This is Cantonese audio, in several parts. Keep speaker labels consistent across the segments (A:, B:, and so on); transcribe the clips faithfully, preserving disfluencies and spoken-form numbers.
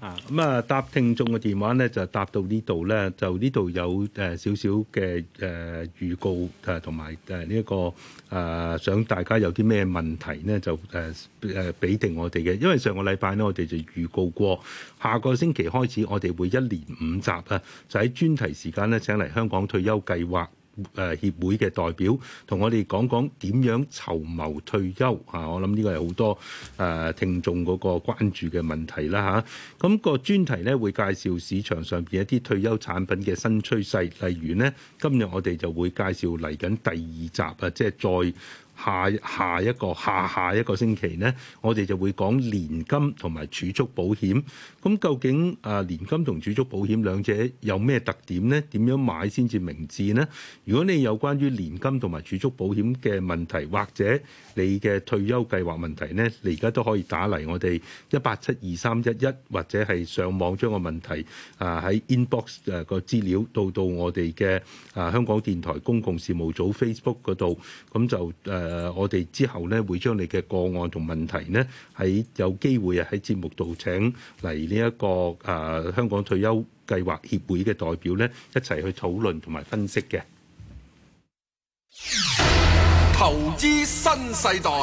A: 啊，咁啊，答聽眾嘅電話咧就答到呢度咧，就呢度有誒少少嘅誒預告誒，同埋誒呢一個誒、呃、想大家有啲咩問題咧，就誒誒俾定我哋嘅。因為上個禮拜咧，我哋就預告過，下個星期開始我哋會一連五集啊，就喺專題時間咧請嚟香港退休計劃誒協會嘅代表同我哋講講點樣籌謀退休啊！我諗呢個係好多誒聽眾嗰個關注嘅問題啦嚇。咁個專題咧會介紹市場上邊一啲退休產品嘅新趨勢，例如呢，今日我哋就會介紹嚟緊第二集啊，即係再下下一個下下一個星期呢，我哋就會講年金同埋儲蓄保險。咁究竟啊年金同儲蓄保險兩者有咩特點呢？點樣買先至明智呢？如果你有關於年金同埋儲蓄保險嘅問題，或者你嘅退休計劃問題呢，你而家都可以打嚟我哋一八七二三一一，或者係上網將個問題啊喺 inbox 誒個資料到到我哋嘅啊香港電台公共事務組 Facebook 嗰度，咁就誒。誒，我哋之後咧會將你嘅個案同問題呢，喺有機會啊喺節目度請嚟呢一個誒、呃、香港退休計劃協會嘅代表呢，一齊去討論同埋分析嘅。
B: 投資新世代。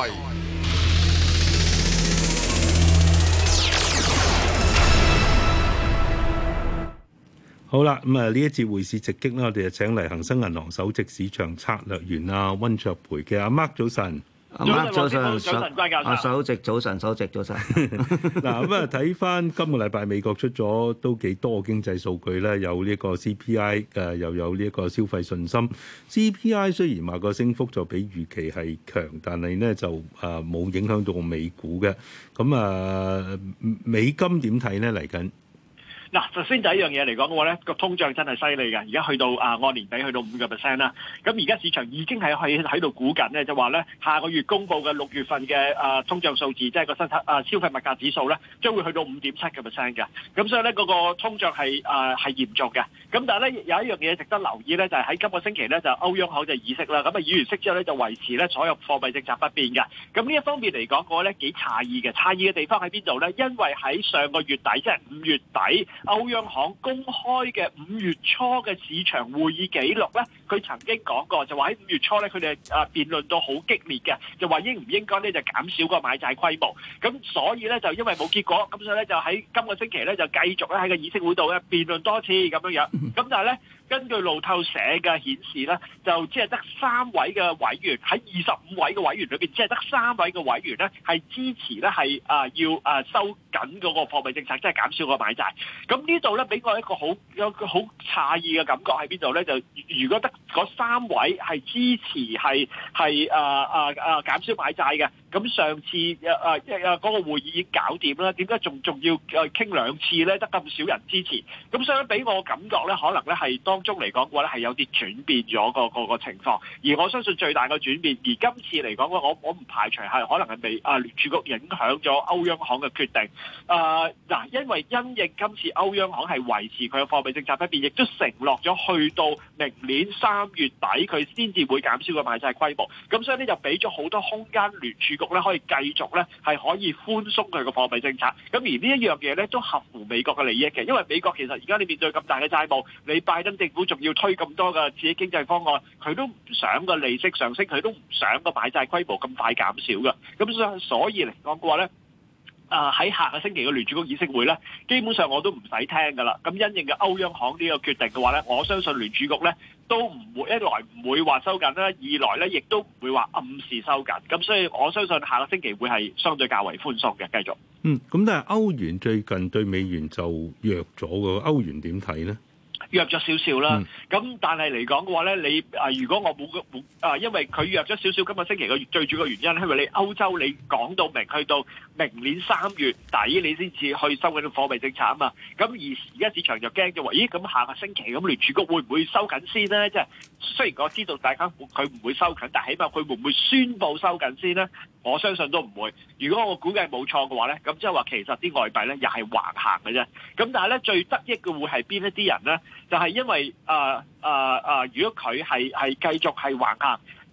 A: 好啦，咁啊呢一節匯市直擊咧，我哋就請嚟恒生銀行首席市場策略員啊溫灼培嘅阿 Mark 早晨，
C: 阿 Mark 早晨，
D: 早晨關教授，
C: 阿首席早晨，首席早晨。
A: 嗱咁啊睇翻今個禮拜美國出咗都幾多經濟數據咧，有呢個 C P I 誒，又有呢一個消費信心。C P I 雖然話個升幅就比預期係強，但係呢就誒冇影響到美股嘅。咁啊美金點睇呢嚟緊？
D: 嗱，首先第一樣嘢嚟講嘅話咧，個通脹真係犀利嘅，而家去到啊按年比去到五個 percent 啦。咁而家市場已經係喺喺度估緊咧，就話咧下個月公佈嘅六月份嘅啊通脹數字，即係個新啊消費物價指數咧，將會去到五點七個 percent 嘅。咁所以咧嗰個通脹係啊係嚴重嘅。咁但係咧有一樣嘢值得留意咧，就係喺今個星期咧就歐央行就議息啦。咁啊議完息之後咧就維持咧所有貨幣政策不變嘅。咁呢一方面嚟講嘅話咧幾詫異嘅，詫異嘅地方喺邊度咧？因為喺上個月底即係五月底。歐央行公開嘅五月初嘅市場會議記錄咧，佢曾經講過就話喺五月初咧，佢哋啊辯論到好激烈嘅，就話應唔應該咧就減少個買債規模。咁所以咧就因為冇結果，咁所以咧就喺今個星期咧就繼續咧喺個議息會度咧辯論多次咁樣樣。咁但係咧根據路透社嘅顯示咧，就只係得三位嘅委員喺二十五位嘅委員裏邊，只係得三位嘅委員咧係支持咧係啊要啊收緊嗰個貨幣政策，即係減少個買債。咁呢度咧俾我一個好有個好詫異嘅感覺喺邊度咧？就如果得嗰三位係支持係係啊啊啊減少買債嘅，咁上次啊啊嗰個會議已經搞掂啦，點解仲仲要誒傾兩次咧？得咁少人支持，咁所以俾我感覺咧，可能咧係當中嚟講嘅話咧係有啲轉變咗個個個情況。而我相信最大嘅轉變，而今次嚟講嘅我我唔排除係可能係被啊聯儲局影響咗歐央行嘅決定。啊嗱，因為因應今次歐央行係維持佢嘅貨幣政策不變，亦都承諾咗去到明年三月底佢先至會減少個買債規模。咁所以呢，就俾咗好多空間聯儲局咧可以繼續咧係可以寬鬆佢個貨幣政策。咁而呢一樣嘢咧都合乎美國嘅利益嘅，因為美國其實而家你面對咁大嘅債務，你拜登政府仲要推咁多嘅刺激經濟方案，佢都唔想個利息上升，佢都唔想個買債規模咁快減少嘅。咁所所以嚟講嘅話咧。啊！喺下個星期嘅聯儲局議息會咧，基本上我都唔使聽㗎啦。咁因應嘅歐央行呢個決定嘅話咧，我相信聯儲局咧都唔會一來唔會話收緊啦，二來咧亦都唔會話暗示收緊。咁所以我相信下個星期會係相對較為寬鬆嘅，繼續。
A: 嗯，咁但係歐元最近對美元就弱咗㗎，歐元點睇咧？
D: 弱咗少少啦，咁、嗯、但係嚟講嘅話咧，你啊如果我冇冇啊，因為佢弱咗少少，今個星期嘅最主要嘅原因，因為你歐洲你講到明，去到明年三月底你先至去收緊貨幣政策啊嘛，咁而而家市場就驚咗話，咦咁下個星期咁聯儲局會唔會收緊先呢？即係雖然我知道大家佢唔會收緊，但係起碼佢會唔會宣佈收緊先呢？我相信都唔會。如果我估計冇錯嘅話咧，咁即係話其實啲外幣咧又係橫行嘅啫。咁但係咧最得益嘅會係邊一啲人咧？就係、是、因為啊啊啊！如果佢係係繼續係橫行，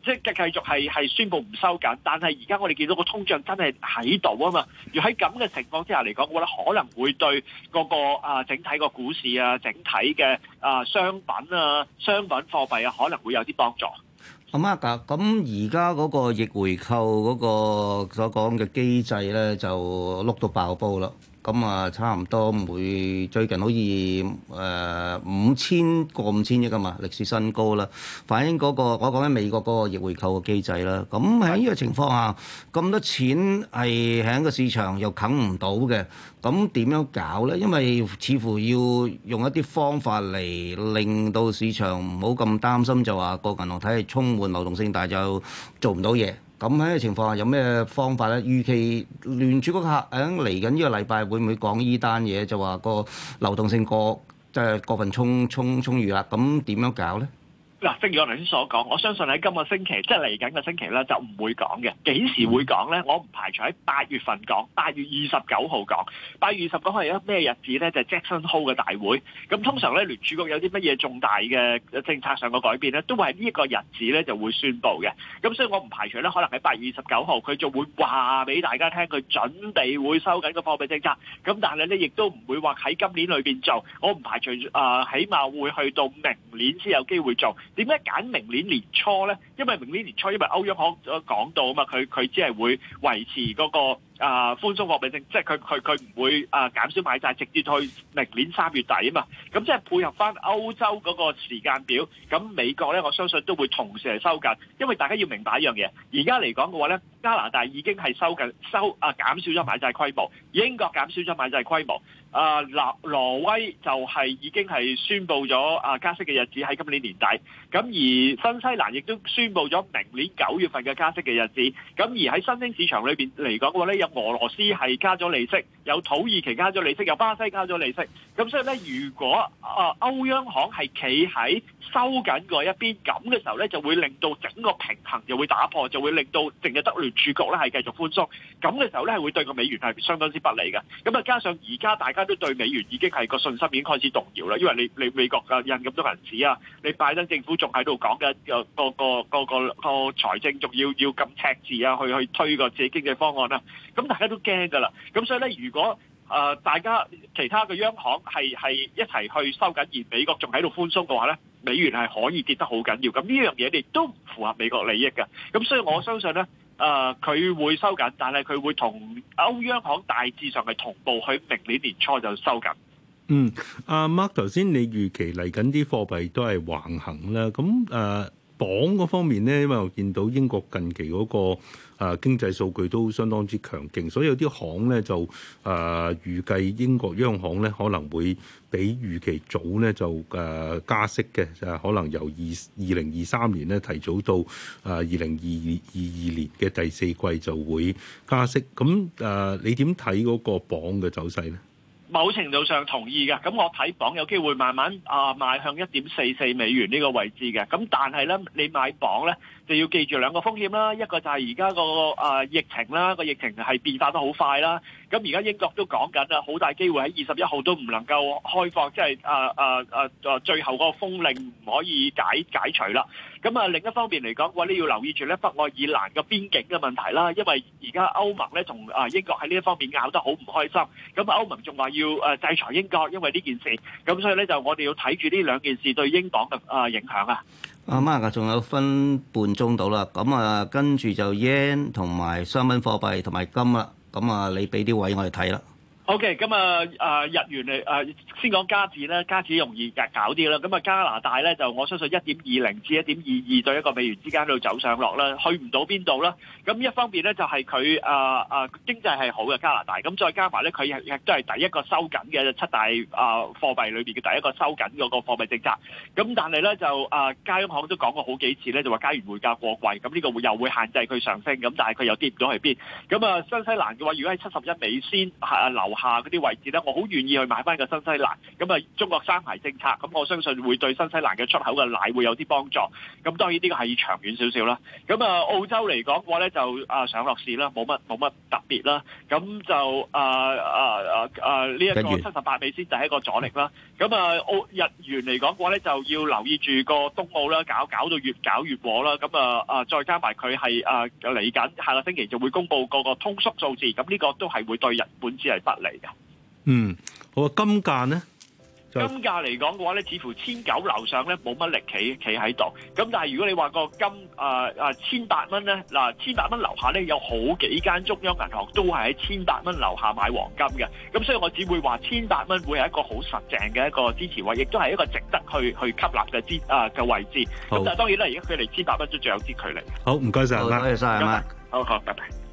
D: 即係繼續係係宣布唔收緊，但係而家我哋見到個通脹真係喺度啊嘛。要喺咁嘅情況之下嚟講，我覺得可能會對嗰個啊整體個股市啊、整體嘅啊商品啊、商品貨幣啊，可能會有啲幫助。
C: 阿 Mark 㗎，咁而家嗰個逆回購嗰個所講嘅機制咧，就碌到爆煲啦。咁啊，差唔多每最近好似誒五千過五千億㗎嘛，歷史新高啦。反映嗰個我講緊美國嗰個逆回購嘅機制啦。咁喺呢個情況下，咁多錢係喺個市場又啃唔到嘅，咁點樣搞咧？因為似乎要用一啲方法嚟令到市場唔好咁擔心，就話個銀行體系充滿流動性，但係就做唔到嘢。咁喺呢個情況下有咩方法咧？預期聯儲局客喺嚟緊呢個禮拜會唔會講呢單嘢？就話個流動性過即係過分充充充裕啦。咁點樣搞咧？
D: 嗱，正如我頭先所講，我相信喺今個星期，即係嚟緊個星期咧，就唔會講嘅。幾時會講咧？我唔排除喺八月份講，八月二十九號講。八月二十九號係一咩日子咧？就係 Jackson Hole 嘅大會。咁通常咧，聯儲局有啲乜嘢重大嘅政策上嘅改變咧，都會喺呢一個日子咧就會宣佈嘅。咁所以我唔排除咧，可能喺八月二十九號佢就會話俾大家聽，佢準備會收緊個貨幣政策。咁但係咧，亦都唔會話喺今年裏邊做。我唔排除啊、呃，起碼會去到明年先有機會做。點解揀明年年初咧？因為明年年初，因為歐央行講到啊嘛，佢佢只係會維持嗰個啊寬鬆貨幣政策，即係佢佢佢唔會啊減少買債，直接去明年三月底啊嘛。咁即係配合翻歐洲嗰個時間表，咁美國咧，我相信都會同時係收緊。因為大家要明白一樣嘢，而家嚟講嘅話咧，加拿大已經係收緊收啊減少咗買債規模，英國減少咗買債規模。啊，挪挪威就係已經係宣布咗啊加息嘅日子喺今年年底，咁而新西蘭亦都宣布咗明年九月份嘅加息嘅日子，咁而喺新興市場裏邊嚟講嘅話咧，有俄羅斯係加咗利息，有土耳其加咗利息，有巴西加咗利息，咁所以咧，如果啊歐央行係企喺收緊嗰一邊咁嘅時候咧，就會令到整個平衡就會打破，就會令到淨係得聯儲局咧係繼續寬鬆，咁嘅時候咧係會對個美元係相當之不利嘅，咁啊加上而家大家都對美元已經係個信心已經開始動搖啦，因為你你美國嘅印咁多銀紙啊，你拜登政府仲喺度講緊個個個個個財政仲要要咁赤字啊，去去推個自己經濟方案啦，咁大家都驚㗎啦，咁所以咧，如果誒、呃、大家其他嘅央行係係一齊去收緊，而美國仲喺度寬鬆嘅話咧，美元係可以跌得好緊要，咁呢樣嘢亦都唔符合美國利益嘅，咁所以我相信咧。誒佢、呃、會收緊，但係佢會同歐央行大致上係同步，喺明年年初就收緊。
A: 嗯，阿 Mark 頭先你預期嚟緊啲貨幣都係橫行啦，咁誒鎊嗰方面咧，因為我見到英國近期嗰、嗰個。啊，經濟數據都相當之強勁，所以有啲行咧就啊預計英國央行咧可能會比預期早咧就誒、啊、加息嘅，就可能由二二零二三年咧提早到啊二零二二二年嘅第四季就會加息。咁誒、啊，你點睇嗰個鎊嘅走勢咧？
D: 某程度上同意嘅，咁我睇鎊有機會慢慢啊邁向一點四四美元呢個位置嘅，咁但係咧你買鎊咧就要記住兩個風險啦，一個就係而家個啊疫情啦，個疫情係變化得好快啦，咁而家英國都講緊啦，好大機會喺二十一號都唔能夠開放，即係啊啊啊啊最後嗰個封令唔可以解解除啦。咁啊另一方面嚟講，我哋要留意住咧北愛爾蘭嘅邊境嘅問題啦，因為而家歐盟咧同啊英國喺呢一方面拗得好唔開心，咁歐盟仲話要誒制裁英國，因為呢件事，咁所以咧就我哋要睇住呢兩件事對英鎊嘅啊影響啊。
C: 阿媽啊，仲有分半鐘到啦，咁啊跟住就 yen 同埋商品貨幣同埋金啦，咁啊你俾啲位我哋睇啦。
D: O.K. 咁啊，啊日元嚟啊，先講加紙咧，加紙容易搞啲啦。咁啊，加拿大咧就我相信一點二零至一點二二對一個美元之間度走上落啦，去唔到邊度啦。咁一方面咧就係佢啊啊經濟係好嘅加拿大，咁再加埋咧佢亦都係第一個收緊嘅七大啊貨幣裏邊嘅第一個收緊嗰個貨幣政策。咁但係咧就啊加央行都講過好幾次咧，就話加元匯價過貴，咁呢個會又會限制佢上升，咁但係佢又跌唔到去邊。咁啊新西蘭嘅話，如果喺七十一美仙啊樓下嗰啲位置咧，我好願意去買翻個新西蘭。咁啊，中國三孩政策，咁我相信會對新西蘭嘅出口嘅奶會有啲幫助。咁當然呢個係長遠少少啦。咁啊，澳洲嚟講嘅話咧，就啊上落市啦，冇乜冇乜特別啦。咁就啊啊啊啊呢一個七十八美仙就係一個阻力啦。咁啊澳日元嚟講嘅話咧，就要留意住個冬奧啦，搞搞到越搞越禍啦。咁啊啊再加埋佢係啊嚟緊下個星期就會公布個個通縮數字，咁呢個都係會對日本紙係不利嘅。
A: 嗯，好啊，金價呢？
D: 金價嚟講嘅話咧，似乎千九樓上咧冇乜力企企喺度。咁但係如果你話個金啊啊千八蚊咧，嗱千八蚊樓下咧有好幾間中央銀行都係喺千八蚊樓下買黃金嘅。咁所以我只會話千八蚊會係一個好實淨嘅一個支持位，亦都係一個值得去去吸納嘅支啊嘅位置。咁但係當然啦，而家佢離千八蚊都仲有啲距離。
A: 好，唔該晒，
C: 多謝晒，阿媽。
D: 好好，拜拜。